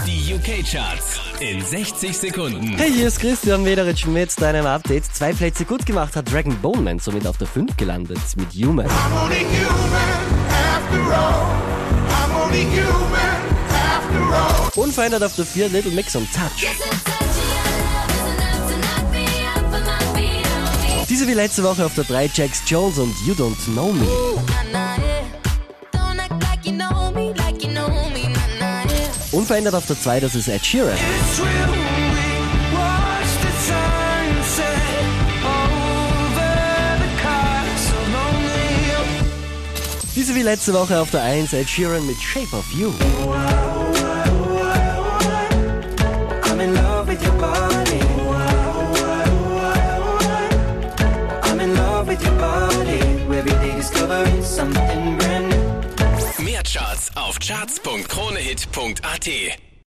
Die UK-Charts in 60 Sekunden. Hey, hier ist Christian Mederitsch mit deinem Update. 2 Plätze gut gemacht hat Dragon Bone Man, somit auf der 5 gelandet mit Human. Unverändert auf der 4 Little Mix und Touch. Diese wie letzte Woche auf der 3 Jax Jones und You Don't Know Me. Unverändert auf der 2, das ist Ed Sheeran. Diese wie letzte Woche auf der 1, Ed Sheeran mit Shape of You. Mehr Charts auf charts.kronehit.at.